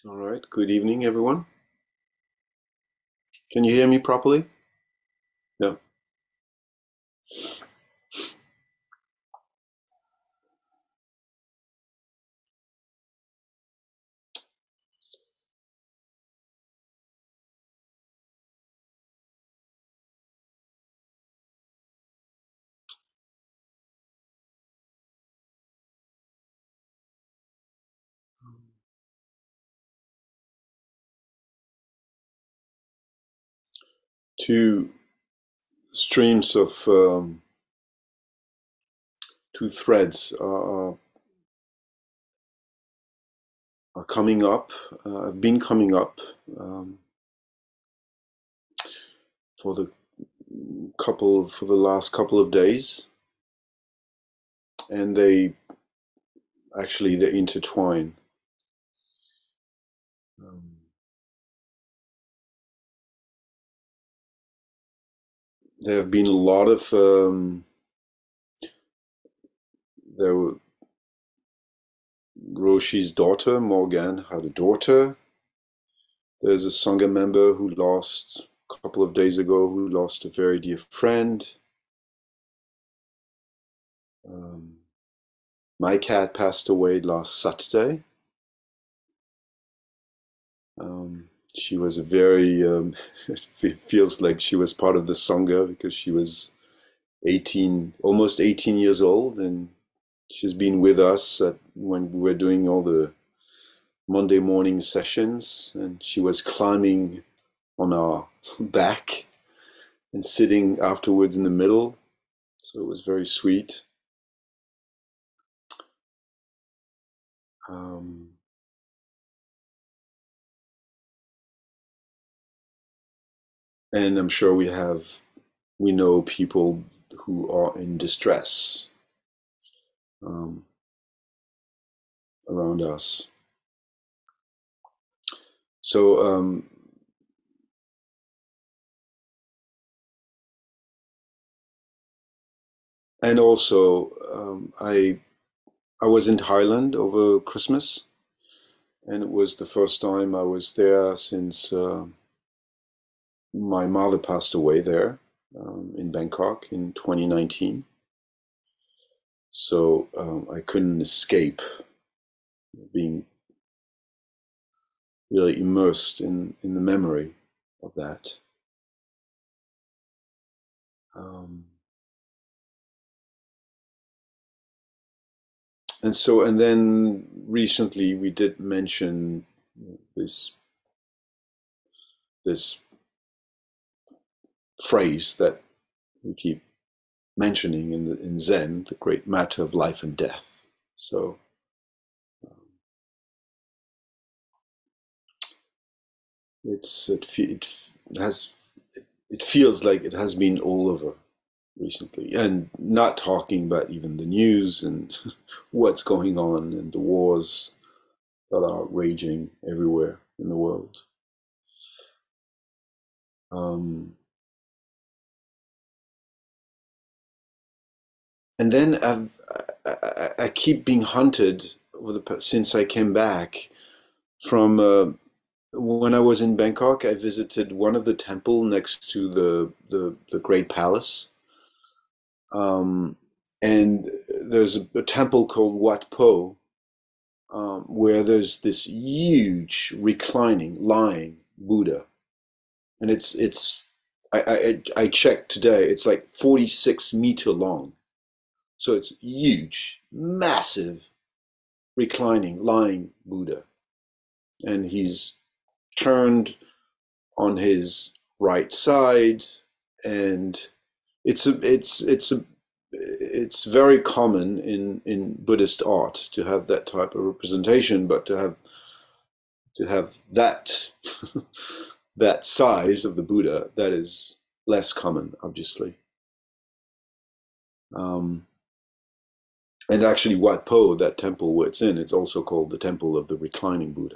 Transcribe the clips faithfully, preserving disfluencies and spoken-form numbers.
All right. Good evening, everyone. Can you hear me properly? Yeah. Two streams of um, two threads are, are coming up. Uh, have been coming up um, for the couple for the last couple of days, and they actually they intertwine. Um, there have been a lot of um, there were Roshi's daughter Morgan had a daughter. There's a Sangha member who lost a couple of days ago who lost a very dear friend. Um, my cat passed away last Saturday. Um, she was a very, um, it feels like she was part of the Sangha because she was eighteen, almost eighteen years old, and she's been with us at, when we were doing all the Monday morning sessions, and she was climbing on our back and sitting afterwards in the middle. So it was very sweet. Um, and I'm sure we have, we know people who are in distress um, around us. So, um, and also, um, I I was in Thailand over Christmas, and it was the first time I was there since uh, my mother passed away there um, in Bangkok in twenty nineteen. So um, I couldn't escape being really immersed in in the memory of that. Um, and so, and then recently we did mention this this phrase that we keep mentioning in the, in Zen, the great matter of life and death. So it's it, it has it feels like it has been all over recently, and not talking about even the news and what's going on and the wars that are raging everywhere in the world. Um, and then I've, I, I, I keep being hunted over the since I came back from uh, when I was in Bangkok. I visited one of the temple next to the the, the Great Palace, um, and there's a, a temple called Wat Po, um, where there's this huge reclining, lying Buddha, and it's it's I, I I checked today. It's like forty-six meter long, so it's huge, massive, reclining, lying Buddha, and he's turned on his right side, and it's a it's it's a it's very common in in Buddhist art to have that type of representation, but to have to have that that size of the Buddha, that is less common, obviously. Um, and actually, Wat Po, that temple where it's in, it's also called the Temple of the Reclining Buddha.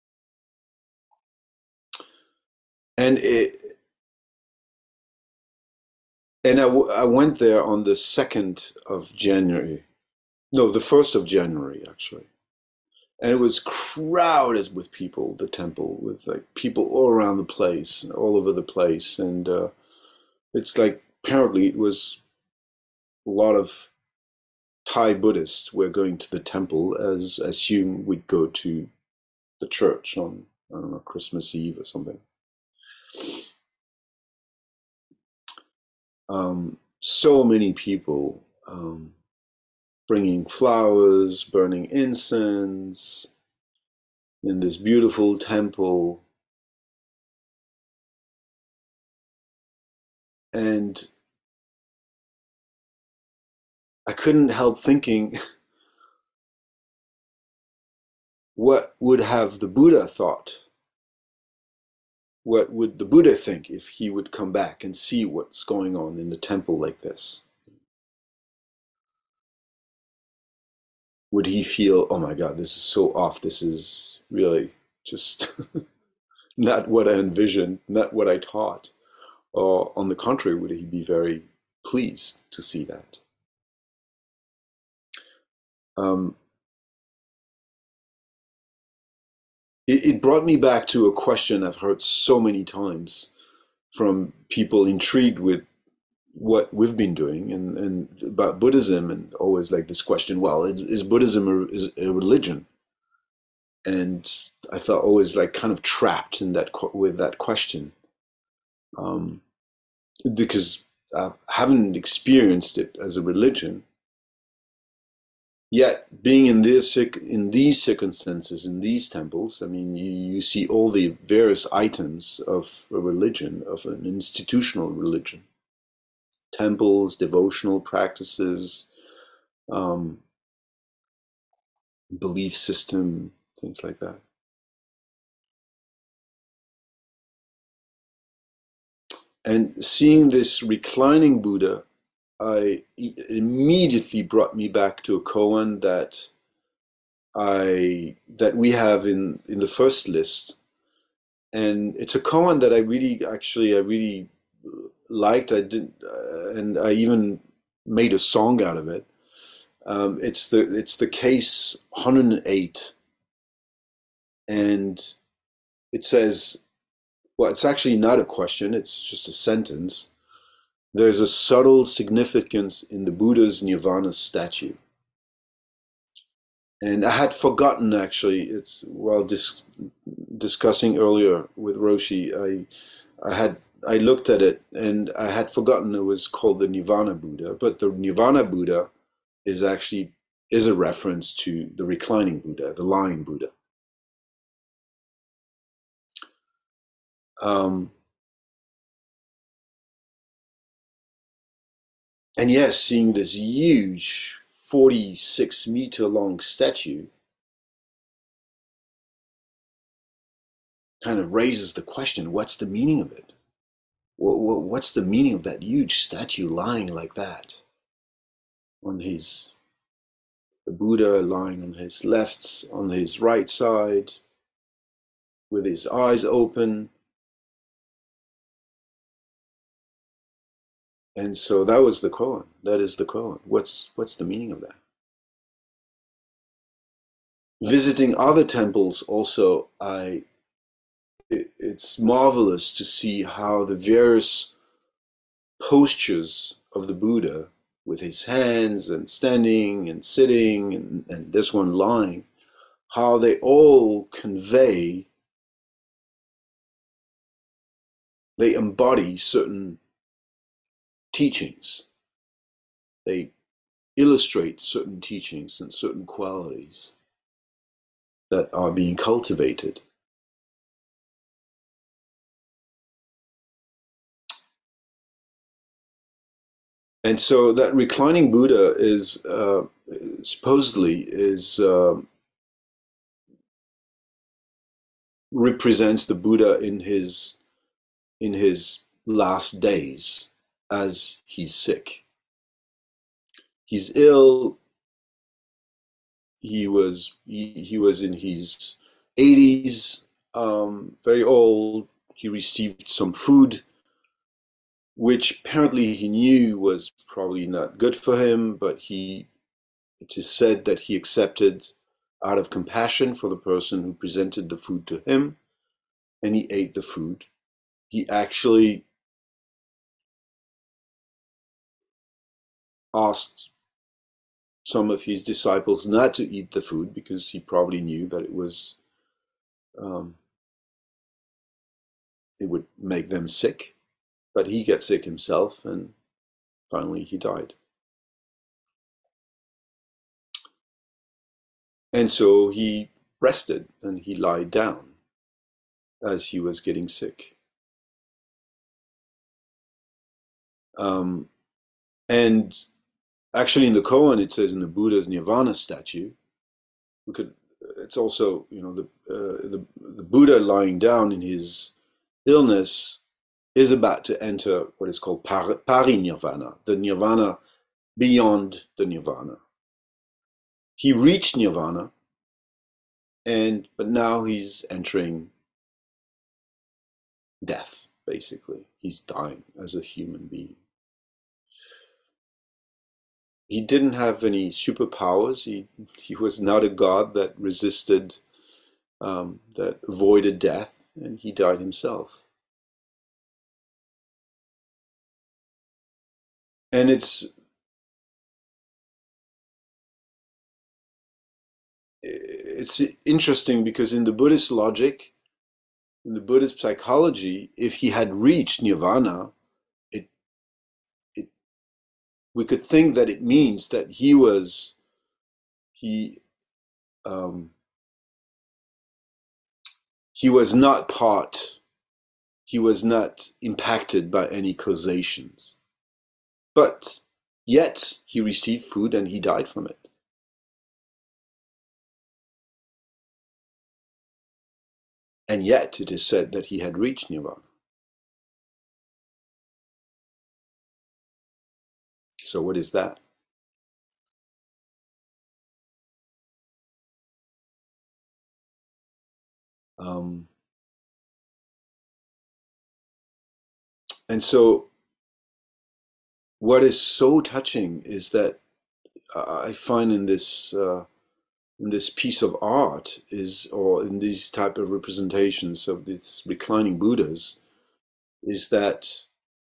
And it, and I, w- I went there on the second of January. No, the first of January, actually. and it was crowded with people. The temple with like people all around the place, all over the place, and uh, it's like apparently it was a lot of Thai Buddhists were going to the temple as assume we'd go to the church on, I don't know, Christmas Eve or something. Um, so many people um, bringing flowers, burning incense in this beautiful temple. And I couldn't help thinking, what would have the Buddha thought? What would the Buddha think if he would come back and see what's going on in the temple like this? Would he feel, oh my God, this is so off, this is really just not what I envisioned, not what I taught? Or on the contrary, would he be very pleased to see that? Um, it, it brought me back to a question I've heard so many times from people intrigued with what we've been doing and, and about Buddhism, and always like this question, well, is, is Buddhism a, is a religion? And I felt always like kind of trapped in that with that question, um, because I haven't experienced it as a religion. Yet, being in this in these circumstances, in these temples, I mean, you, you see all the various items of a religion, of an institutional religion, temples, devotional practices, um, belief system, things like that. And seeing this reclining Buddha, I it immediately brought me back to a koan that I that we have in in the first list, and it's a koan that I really actually I really liked. I did, uh, and I even made a song out of it. Um, it's the it's the case one hundred eight, and it says, well, it's actually not a question. It's just a sentence. There's a subtle significance in the Buddha's Nirvana statue. And I had forgotten, actually, it's while dis- discussing earlier with Roshi, I, I had I looked at it and I had forgotten it was called the Nirvana Buddha, but the Nirvana Buddha is actually is a reference to the reclining Buddha, the lying Buddha. Um, and yes, seeing this huge forty-six meter long statue kind of raises the question, what's the meaning of it? What's the meaning of that huge statue lying like that? On his, the Buddha lying on his left, on his right side, with his eyes open. And so that was the koan. That is the koan. What's what's the meaning of that? Visiting other temples also, I it, it's marvelous to see how the various postures of the Buddha, with his hands and standing and sitting and, and this one lying, how they all convey, they embody certain teachings. They illustrate certain teachings and certain qualities that are being cultivated. And so that reclining Buddha is uh, supposedly is uh, represents the Buddha in his in his last days as he's sick. He's ill. He was he, he was in his eighties, um, very old. He received some food, which apparently he knew was probably not good for him, but he it is said that he accepted out of compassion for the person who presented the food to him, and he ate the food. He actually asked some of his disciples not to eat the food because he probably knew that it was um, it would make them sick. But he got sick himself, and finally he died. And so he rested and he lied down as he was getting sick. Um, and actually, in the koan, it says in the Buddha's Nirvana statue, we could. It's also, you know, the uh, the, the Buddha lying down in his illness is about to enter what is called par, parinirvana, the nirvana beyond the nirvana. He reached nirvana, and but now he's entering death. Basically, he's dying as a human being. He didn't have any superpowers. He he was not a god that resisted, um, that avoided death, and he died himself. And it's it's interesting because in the Buddhist logic, in the Buddhist psychology, if he had reached nirvana, it it we could think that it means that he was he um, he was not part, he was not impacted by any causations, but yet he received food and he died from it. And yet it is said that he had reached nirvana. So what is that? Um, and so what is so touching is that I find in this uh, in this piece of art is, or in these type of representations of these reclining Buddhas, is that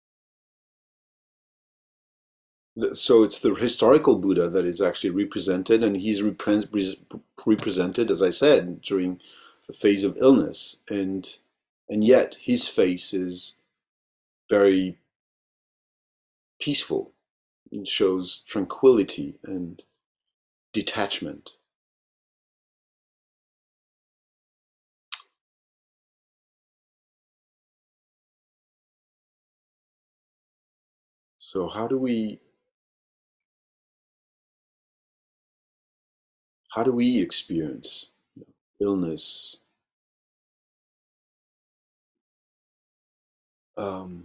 the, so it's the historical Buddha that is actually represented, and he's repre- represented, as I said, during a phase of illness, and and yet his face is very peaceful. It shows tranquility and detachment. So how do we how do we experience illness, um,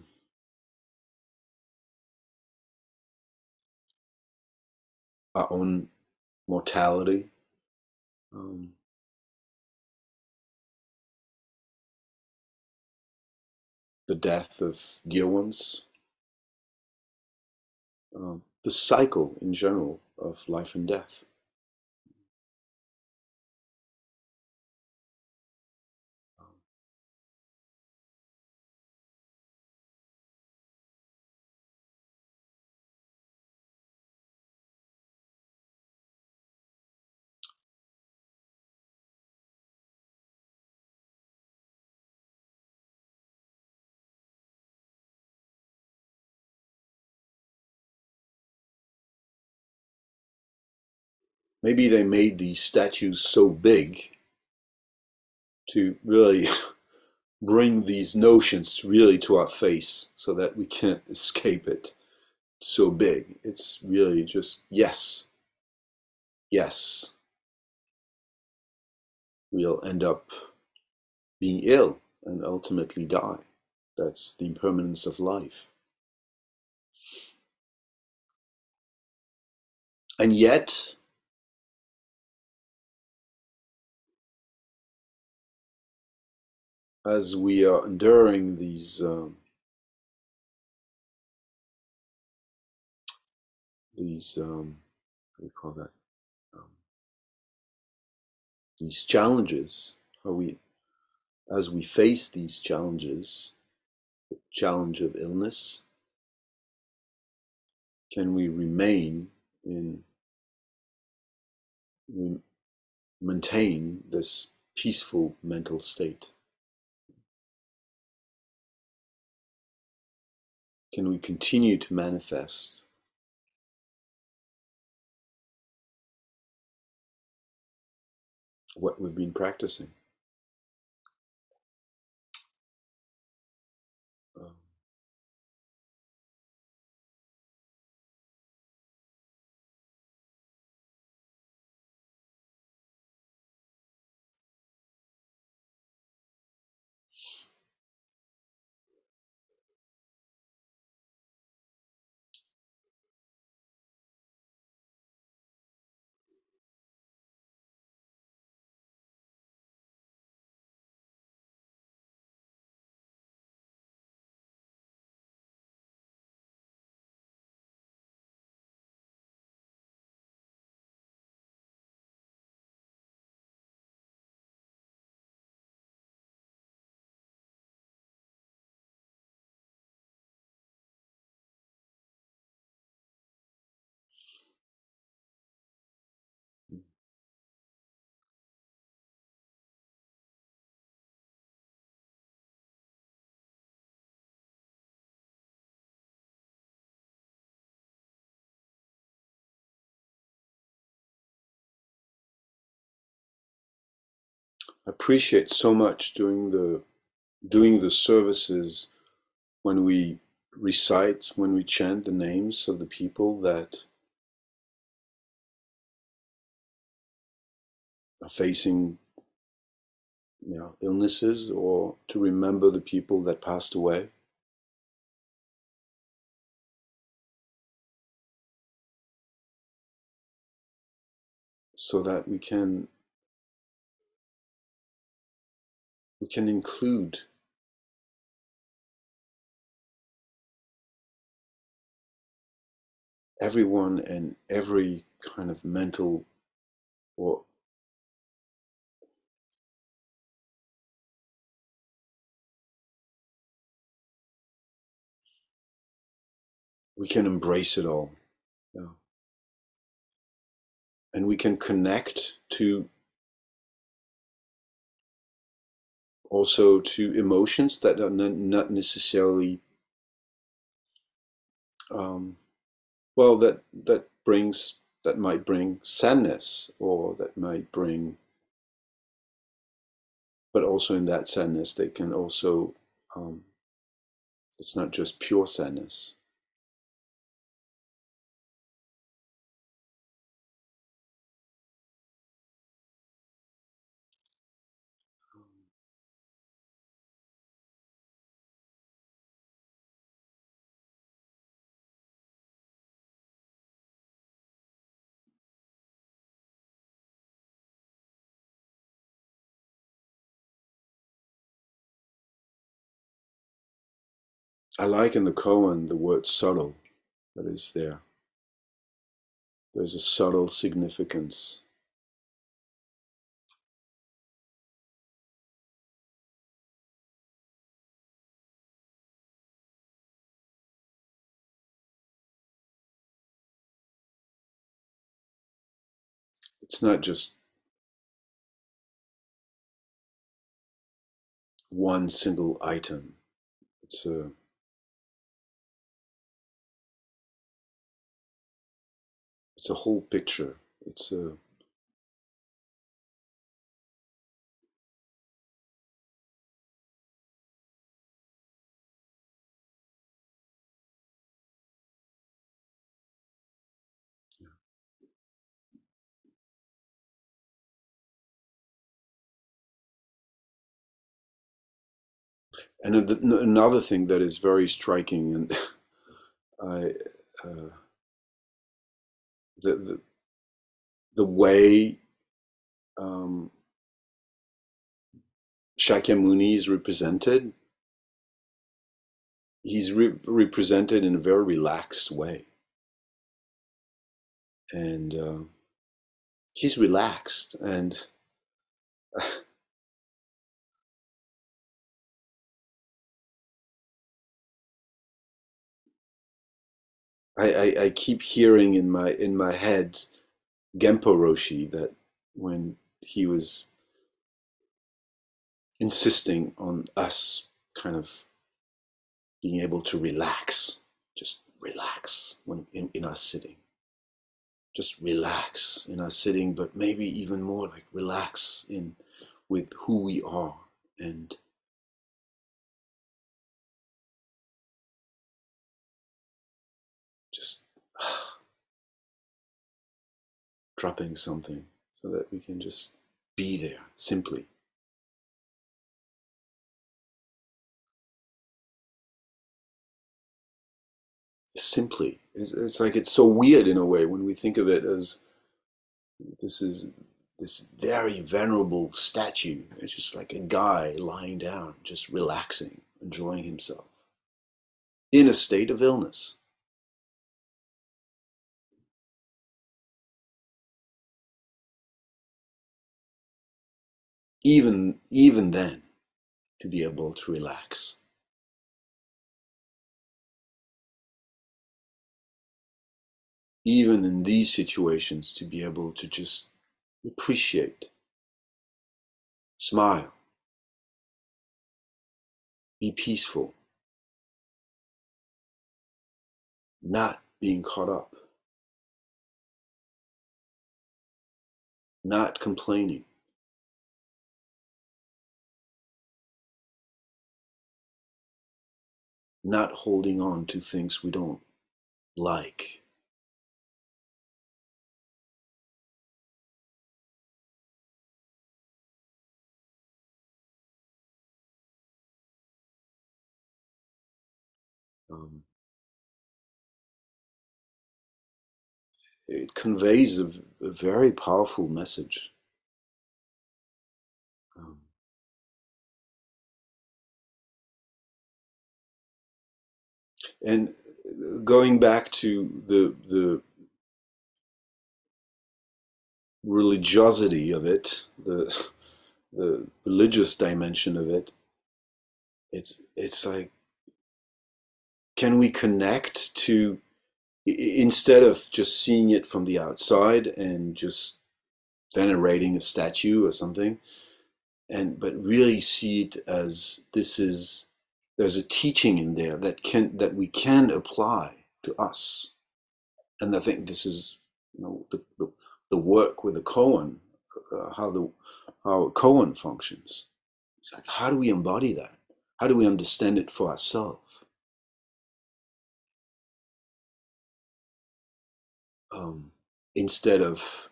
our own mortality, um, the death of dear ones, um, the cycle in general of life and death? Maybe they made these statues so big to really bring these notions really to our face so that we can't escape it. It's so big. It's really just yes, yes. We'll end up being ill and ultimately die. That's the impermanence of life. And yet, as we are enduring these um, these um, what do you call that? Um, these challenges, how we, as we face these challenges, the challenge of illness, can we remain in, we maintain this peaceful mental state? Can we continue to manifest what we've been practicing? Um, I appreciate so much doing the doing the services when we recite, when we chant the names of the people that are facing, you know, illnesses, or to remember the people that passed away, so that we can we can include everyone and every kind of mental, or we can embrace it all. Yeah. And we can connect to also to emotions that are not necessarily um, well, that that brings that might bring sadness, or that might bring, but also in that sadness they can also um, it's not just pure sadness. I like in the koan the word subtle that is there. There's a subtle significance. It's not just one single item. It's a it's a whole picture. It's a and another thing that is very striking, and I uh, the, the the way um, Shakyamuni is represented. He's re- represented in a very relaxed way, and uh, he's relaxed, and I, I, I keep hearing in my in my head Genpo Roshi, that when he was insisting on us kind of being able to relax, just relax when in, in our sitting, just relax in our sitting, but maybe even more like relax in with who we are, and just dropping something so that we can just be there simply. Simply. It's, it's like it's so weird in a way when we think of it as this is this very venerable statue. It's just like a guy lying down, just relaxing, enjoying himself in a state of illness. Even even then, to be able to relax. Even in these situations, to be able to just appreciate, smile, be peaceful, not being caught up, not complaining, not holding on to things we don't like. Um, it conveys a, a very powerful message. Um, and going back to the the religiosity of it, the the religious dimension of it, it's it's like, can we connect to, instead of just seeing it from the outside and just venerating a statue or something, and but really see it as this is, there's a teaching in there that can that we can apply to us. And I think this is, you know, the the, the work with the koan, uh, how the how a koan functions. It's like, how do we embody that? How do we understand it for ourselves? Um, instead of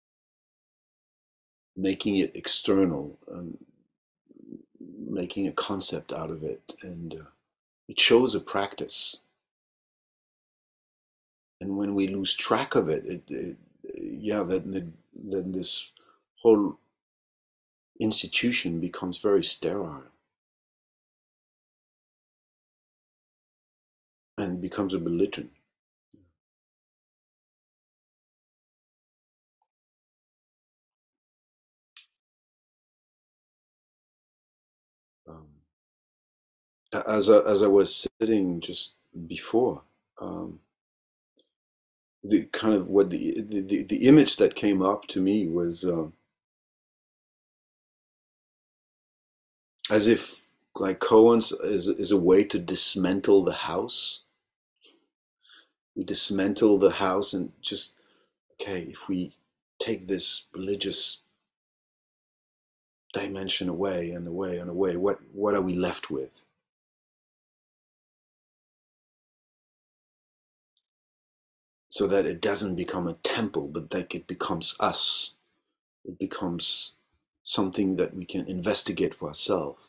making it external and making a concept out of it, and uh, it shows a practice. And when we lose track of it, it, it yeah, then, then this whole institution becomes very sterile and becomes a religion. Um, as I, as I was sitting just before, um, the kind of what the, the the image that came up to me was, uh, as if like koans is is a way to dismantle the house. We dismantle the house and just, okay, if we take this religious dimension away and away and away, what what are we left with? So that it doesn't become a temple, but like it becomes us. It becomes something that we can investigate for ourselves.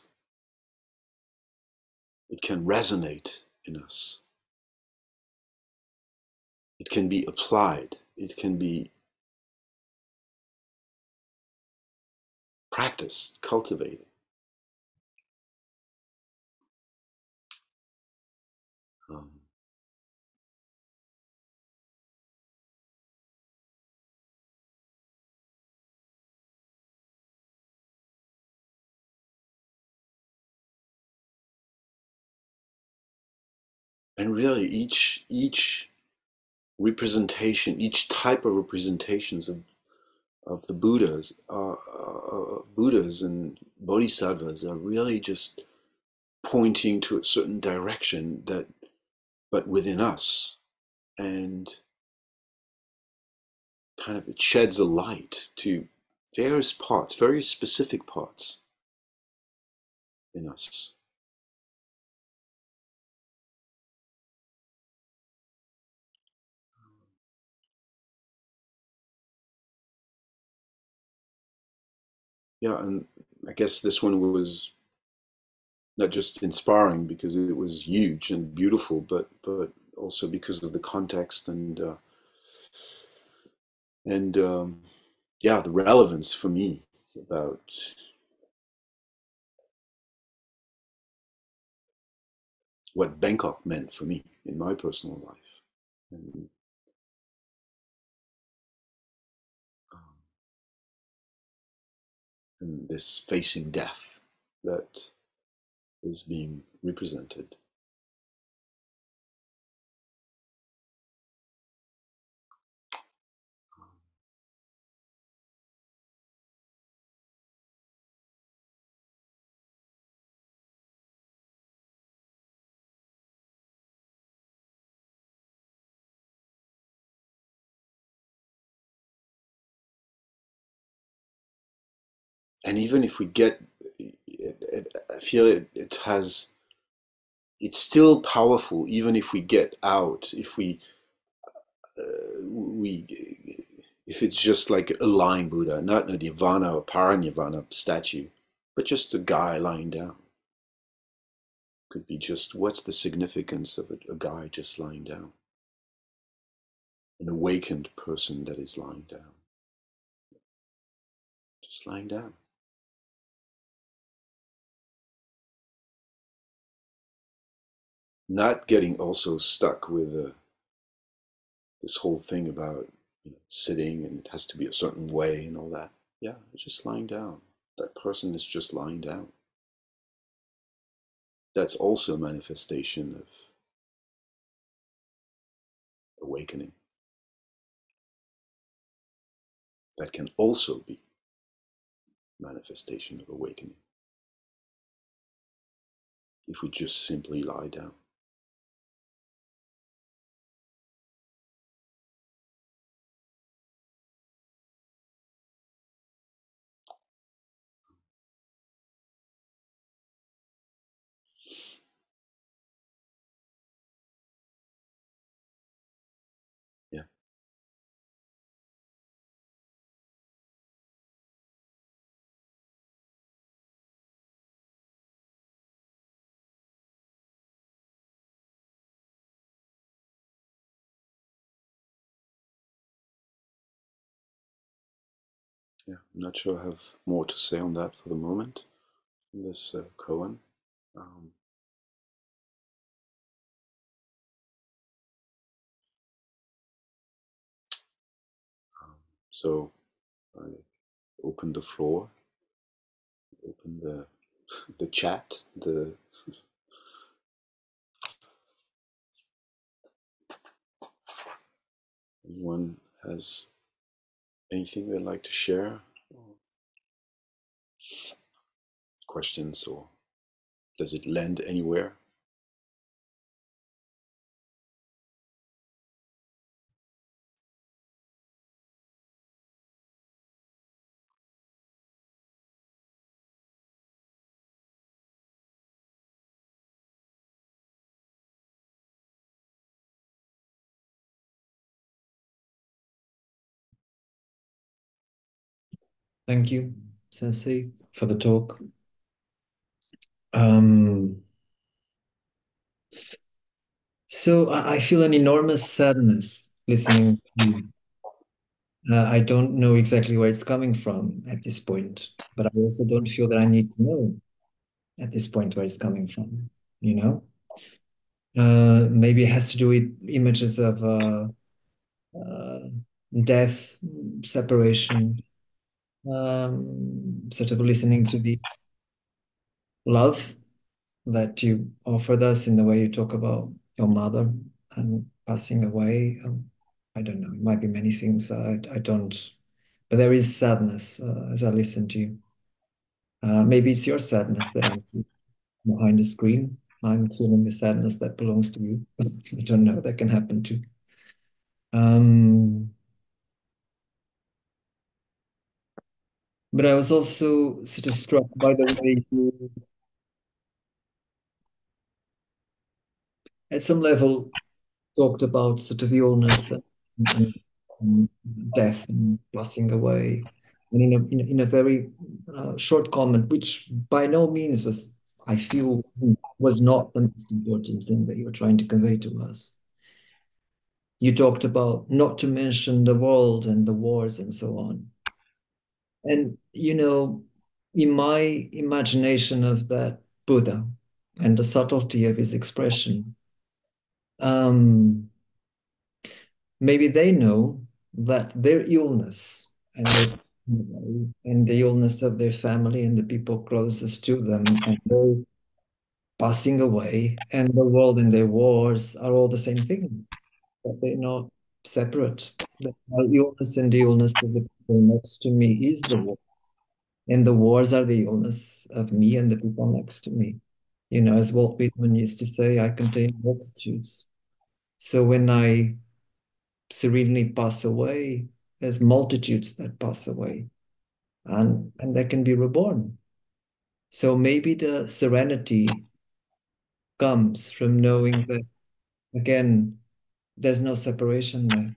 It can resonate in us. It can be applied. It can be practiced, cultivated. Um, and really each each representation, each type of representations of of the Buddhas, uh, of Buddhas and Bodhisattvas are really just pointing to a certain direction that, but within us, and kind of it sheds a light to various parts, very specific parts in us. Yeah, and I guess this one was not just inspiring because it was huge and beautiful, but but also because of the context and uh, and um, yeah, the relevance for me about what Bangkok meant for me in my personal life, and, um, and this facing death that is being represented. And even if we get, it, it, I feel it, it has, it's still powerful even if we get out, if we uh, we if it's just like a lying Buddha, not a nirvana or paranirvana statue, but just a guy lying down. Could be just what's the significance of a, a guy just lying down, an awakened person that is lying down, just lying down. Not getting also stuck with uh, this whole thing about, you know, sitting and it has to be a certain way and all that. Yeah, just lying down. That person is just lying down. That's also a manifestation of awakening. That can also be manifestation of awakening if we just simply lie down. Yeah, yeah. I'm not sure I have more to say on that for the moment. This uh, koan. Um, um, so I open the floor, open the the chat. The anyone has anything they'd like to share, questions, or does it lend anywhere? Thank you, Sensei, for the talk. Um, so I, I feel an enormous sadness listening to you. Uh, I don't know exactly where it's coming from at this point, but I also don't feel that I need to know at this point where it's coming from, you know? Uh, maybe it has to do with images of uh, uh, death, separation, um, sort of listening to the love that you offered us in the way you talk about your mother and passing away. Um, I don't know. It might be many things. I I don't. But there is sadness uh, as I listen to you. Uh, maybe it's your sadness that I'm behind the screen. I'm feeling the sadness that belongs to you. I don't know. That can happen too. Um, but I was also sort of struck by the way you, at some level, talked about sort of illness and, and, and death and passing away. And in a, in a, in a very uh, short comment, which by no means was, I feel, was not the most important thing that you were trying to convey to us. You talked about not to mention the world and the wars and so on. And, you know, in my imagination of that Buddha and the subtlety of his expression, um, maybe they know that their illness and their and the illness of their family and the people closest to them and their passing away and the world and their wars are all the same thing, that they're not separate. That my illness and the illness of the people next to me is the war, and the wars are the illness of me and the people next to me. You know, as Walt Whitman used to say, I contain multitudes. So when I serenely pass away, there's multitudes that pass away, and and they can be reborn. So maybe the serenity comes from knowing that again, there's no separation there.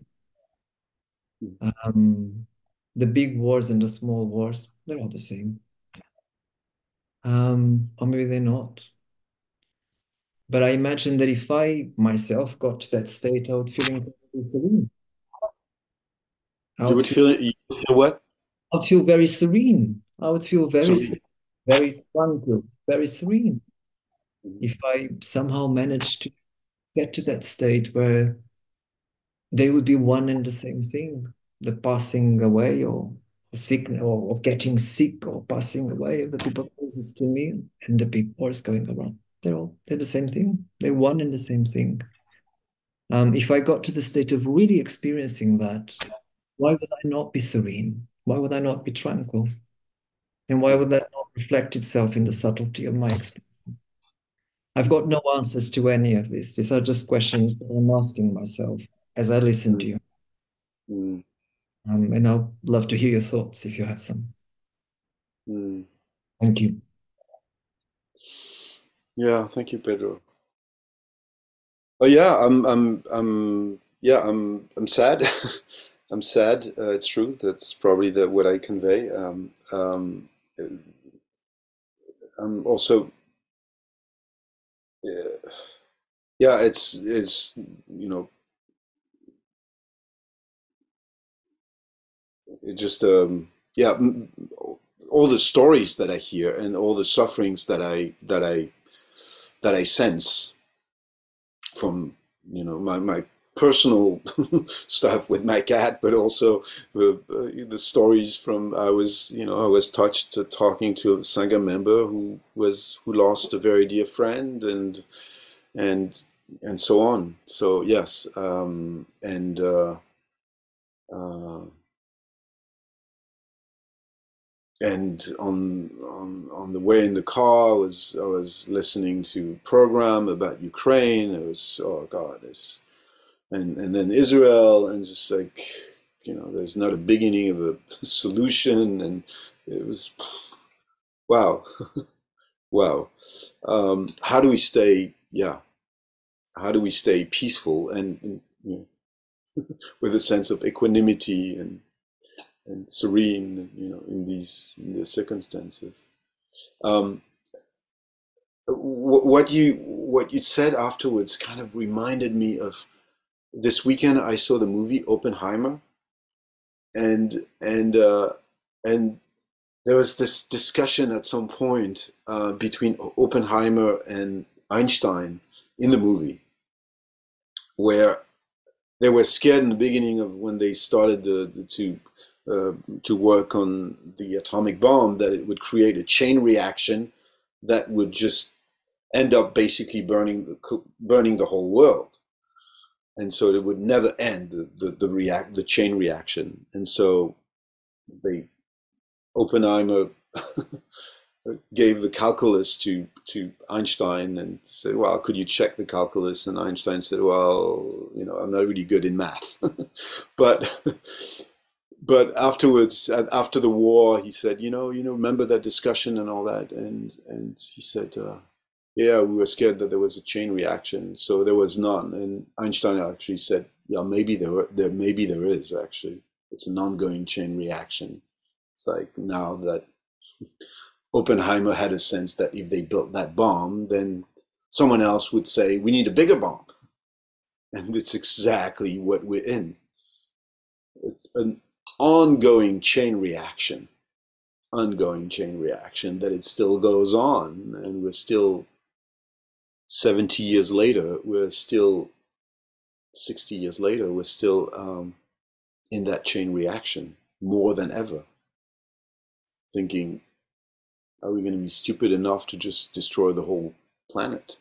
Um, the big wars and the small wars, they're all the same. Um, or maybe they're not. But I imagine that if I myself got to that state, I would feel incredibly serene. I You would would feel, feel you would feel what? I would feel very serene. I would feel very, So, se- very tranquil, very serene. If I somehow managed to get to that state where they would be one and the same thing, the passing away or, or sick or, or getting sick or passing away of the people closest to me and the big wars going around. They're all they're the same thing. They're one and the same thing. Um, if I got to the state of really experiencing that, why would I not be serene? Why would I not be tranquil? And why would that not reflect itself in the subtlety of my experience? I've got no answers to any of this. These are just questions that I'm asking myself as I listen to mm, you. mm, Um, and I'd love to hear your thoughts if you have some. mm. Thank you. Yeah, thank you, Pedro. Oh yeah, I'm I'm I'm yeah, I'm I'm sad. I'm sad. Uh, it's true. That's probably the what I convey. Um, um, I'm also uh, yeah, it's it's you know it just um, yeah, m- all the stories that I hear and all the sufferings that I that I that I sense from you know my my personal stuff with my cat, but also uh, uh, the stories from I was you know I was touched to talking to a Sangha member who was who lost a very dear friend and and and so on. So yes, um, and uh, uh, and on on on the way in the car, I was I was listening to a program about Ukraine. It was oh God, it's and and then Israel, and just like you know, there's not a beginning of a solution, and it was wow, wow. Um, how do we stay? Yeah, how do we stay peaceful and, and you know, with a sense of equanimity and and serene, you know, in these in these circumstances? Um, what you what you said afterwards kind of reminded me of this weekend. I saw the movie Oppenheimer, and and uh, and there was this discussion at some point uh, between Oppenheimer and Einstein in the movie, where they were scared in the beginning of when they started the, the, to uh, to work on the atomic bomb that it would create a chain reaction that would just end up basically burning the burning the whole world, and so it would never end the the, the react the chain reaction. And so they Oppenheimer gave the calculus to to Einstein and said, "Well, could you check the calculus?" And Einstein said, "Well, you know, I'm not really good in math." but but afterwards, after the war, he said, "You know, you know, remember that discussion and all that?" And and he said, uh, "Yeah, we were scared that there was a chain reaction, so there was none." And Einstein actually said, "Yeah, maybe there were, there maybe there is actually. It's an ongoing chain reaction." It's like now that Oppenheimer had a sense that if they built that bomb, then someone else would say, we need a bigger bomb. And it's exactly what we're in. An ongoing chain reaction, ongoing chain reaction that it still goes on. And we're still, seventy years later, we're still, sixty years later, we're still um, in that chain reaction more than ever. Thinking, are we going to be stupid enough to just destroy the whole planet?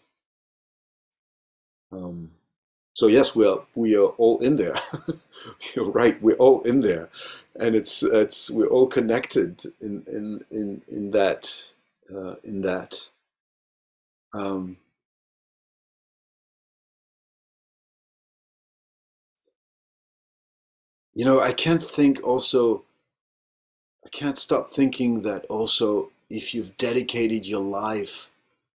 Um, so yes, we are we are all in there. You're right, we're all in there, and it's it's we're all connected in in in in that uh, in that. Um, you know, I can't think also. I can't stop thinking that also if you've dedicated your life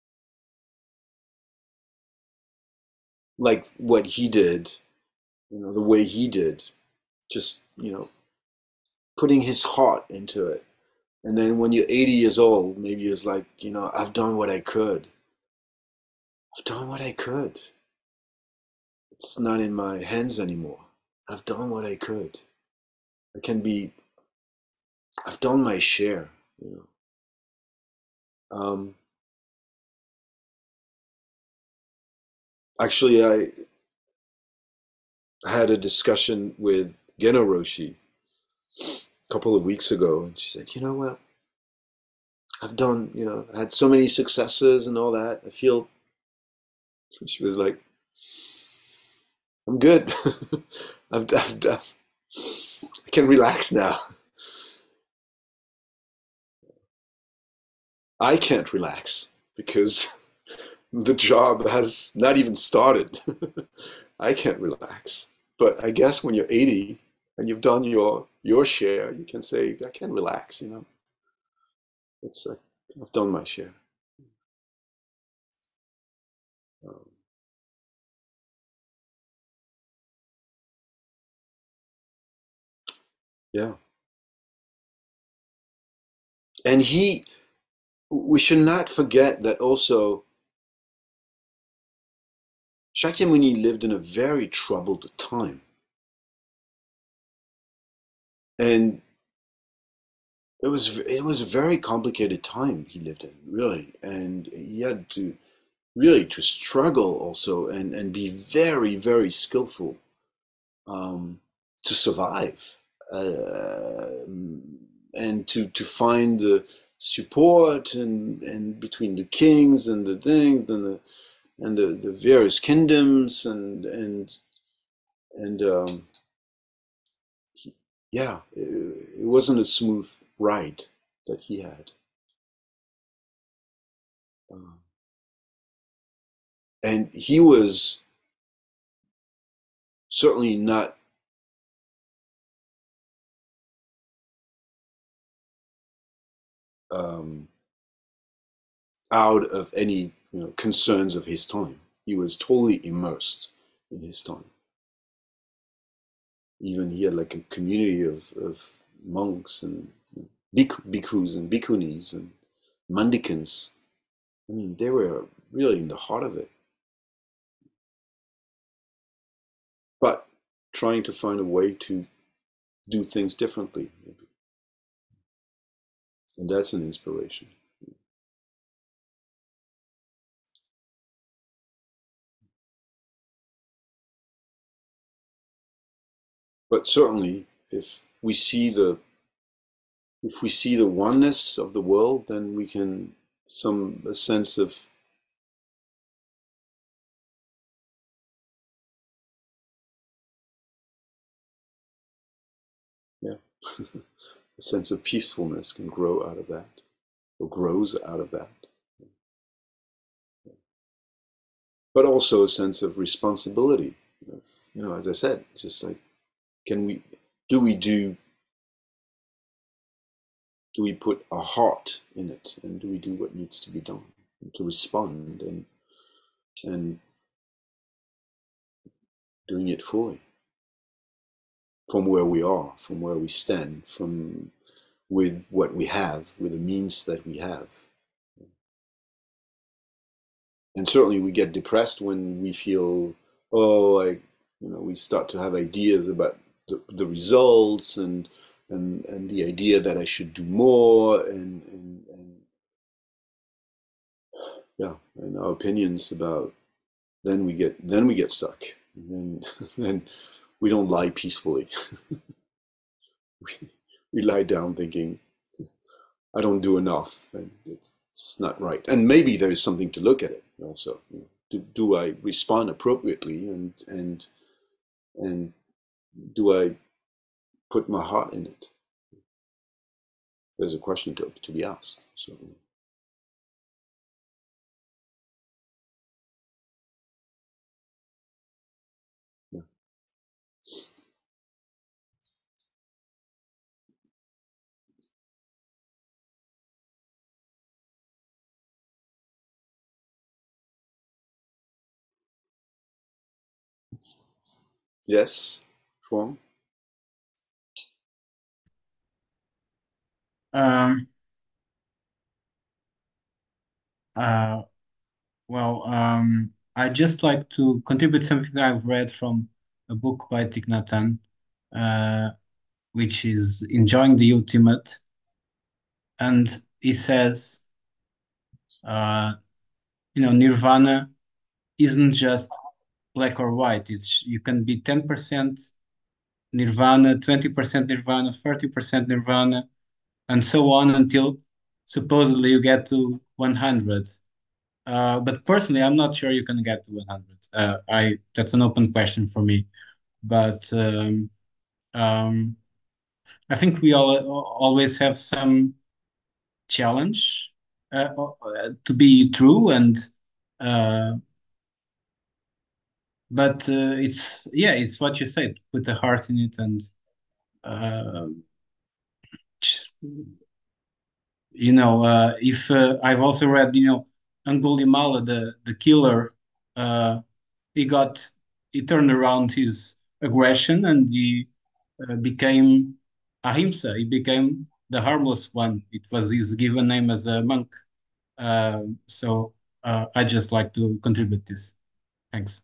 like what he did, you know, the way he did, just you know, putting his heart into it. And then when you're eighty years old, maybe it's like, you know, I've done what I could. I've done what I could. It's not in my hands anymore. I've done what I could. I can be, I've done my share, you know. Um, actually, I had a discussion with Geno Roshi a couple of weeks ago, and she said, you know what? I've done, you know, I had so many successes and all that. I feel, she was like, I'm good. I've, I've, I've, I can relax now. I can't relax because the job has not even started. I can't relax. But I guess when you're eighty and you've done your your share, you can say, I can relax, you know. It's uh, I've done my share. Um, yeah. And he, we should not forget that also Shakyamuni lived in a very troubled time. And it was it was a very complicated time he lived in, really. And he had to really to struggle also and, and be very, very skillful um, to survive uh, and to, to find the support and, and between the kings and the thing and the and the, the various kingdoms and and and um, he, yeah, it, it wasn't a smooth ride that he had. Um, and he was certainly not um, out of any you know concerns of his time. He was totally immersed in his time. Even he had like a community of, of monks and bhikkhus and bhikkhunis and mendicants. I mean, they were really in the heart of it, but trying to find a way to do things differently, maybe. And that's an inspiration. But certainly, if we see the if we see the oneness of the world, then we can some a sense of A sense of peacefulness can grow out of that, or grows out of that. But also a sense of responsibility. You know, as I said, just like, can we, do we do, do we put our heart in it, and do we do what needs to be done to respond, and and doing it fully from where we are, from where we stand, from with what we have, with the means that we have. And certainly we get depressed when we feel, oh, I, you know, we start to have ideas about the, the results, and and and the idea that I should do more, and, and and yeah, and our opinions about, then we get then we get stuck, and then then we don't lie peacefully. we, we lie down thinking, I don't do enough, and it's, it's not right. And maybe there's something to look at it also. You know, do, do I respond appropriately, and and and do I put my heart in it? There's a question to, to be asked. So, yeah. Yes, Shuang? Um, uh, well, um, I just like to contribute something I've read from a book by Thich Nhat Hanh, uh, which is Enjoying the Ultimate. And he says, uh, you know, Nirvana isn't just black or white. It's you can be ten percent Nirvana, twenty percent Nirvana, thirty percent Nirvana, and so on until supposedly you get to one hundred. Uh, but personally, I'm not sure you can get to one hundred. Uh, I That's an open question for me. But um, um, I think we all always have some challenge uh, uh, to be true, and uh, but uh, it's yeah, it's what you said. Put the heart in it, and uh, you know, uh, if uh, I've also read, you know, Angulimala, the the killer, uh, he got he turned around his aggression, and he uh, became Ahimsa. He became the harmless one. It was his given name as a monk. Um, so uh, I just like to contribute this. Thanks.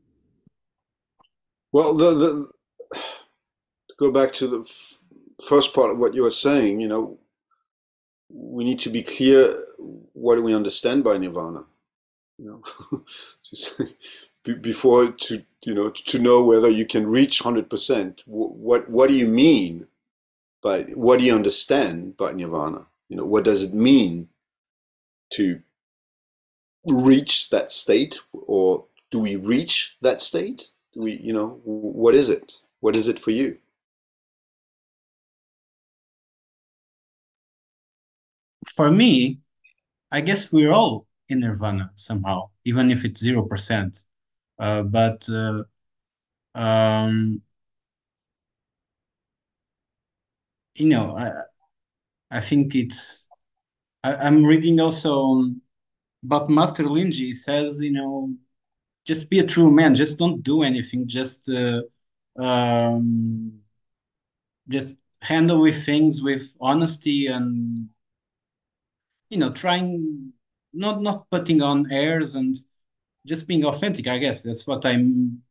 Well, the, the to go back to the f- first part of what you were saying, you know, we need to be clear, what do we understand by nirvana? You know, just before, to you know, to know whether you can reach one hundred percent. What what do you mean by, what do you understand by nirvana? You know, what does it mean to reach that state, or do we reach that state? Do we, you know, what is it? What is it for you? For me, I guess we're all in nirvana somehow, even if it's zero percent. Uh, but uh, um, you know, I I think it's. I, I'm reading also about Master Linji. He says, you know, just be a true man. Just don't do anything. Just uh, um, just handle with things with honesty, and you know, trying not not putting on airs, and just being authentic. I guess that's what I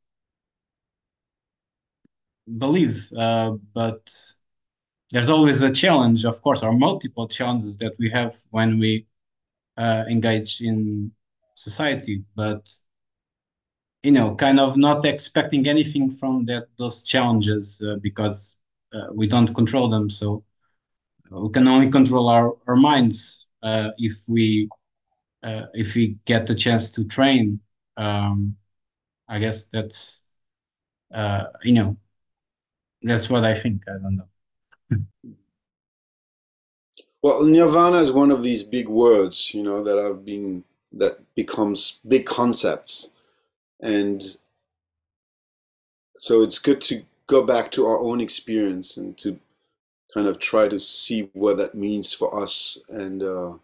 believe. Uh, but there's always a challenge, of course, or multiple challenges that we have when we uh, engage in society. But you know, kind of not expecting anything from that those challenges uh, because uh, we don't control them. So we can only control our our minds uh, if we uh, if we get the chance to train. Um, I guess that's uh, you know that's what I think. I don't know. Well, nirvana is one of these big words, you know, that have been that becomes big concepts, and so it's good to go back to our own experience and to kind of try to see what that means for us. And uh,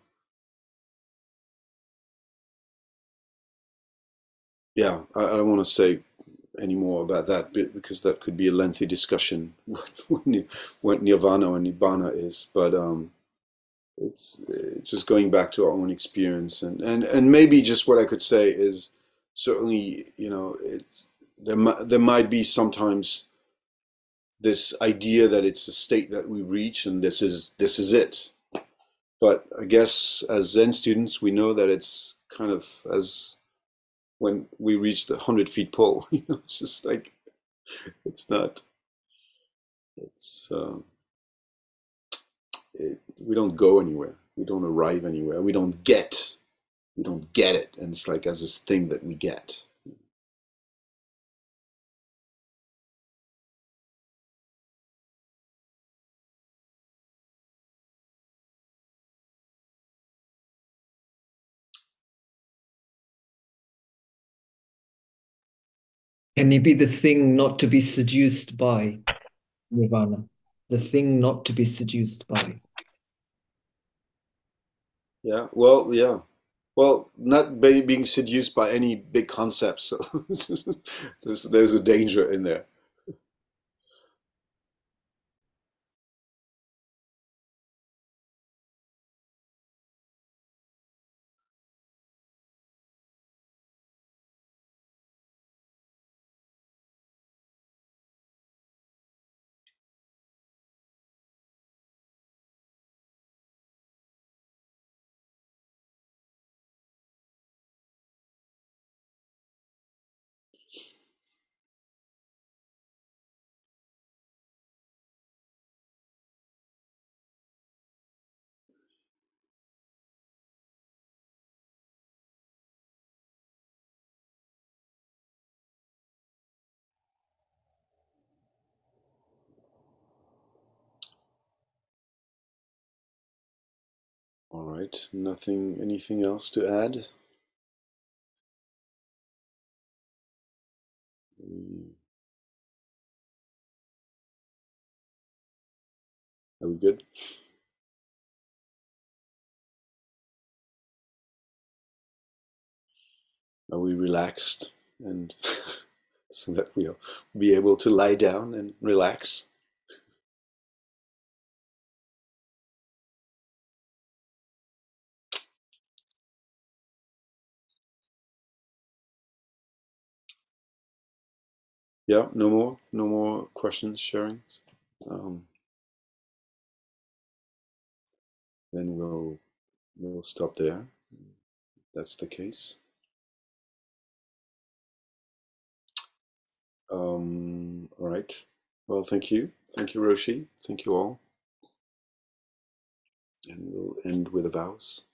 yeah, I, I don't want to say any more about that because that could be a lengthy discussion what nirvana or nibbana is. But um, it's, it's just going back to our own experience, and, and, and maybe just what I could say is certainly, you know, it's there. There might be sometimes this idea that it's a state that we reach and this is this is it. But I guess as Zen students, we know that it's kind of as when we reach the hundred feet pole. You know, it's just like it's not. It's um, it, we don't go anywhere. We don't arrive anywhere. We don't get. We don't get it, and it's like as this thing that we get. Can it be the thing not to be seduced by, nirvana? The thing not to be seduced by. Yeah. Well. Yeah. Well, not be, being seduced by any big concepts. So there's, there's a danger in there. All right. Nothing. Anything else to add? Mm, are we good? Are we relaxed? And so that we'll be able to lie down and relax. Yeah. No more. No more questions, sharing. Um, then we'll we'll stop there. That's the case. Um, all right. Well, thank you. Thank you, Roshi. Thank you all. And we'll end with the vows.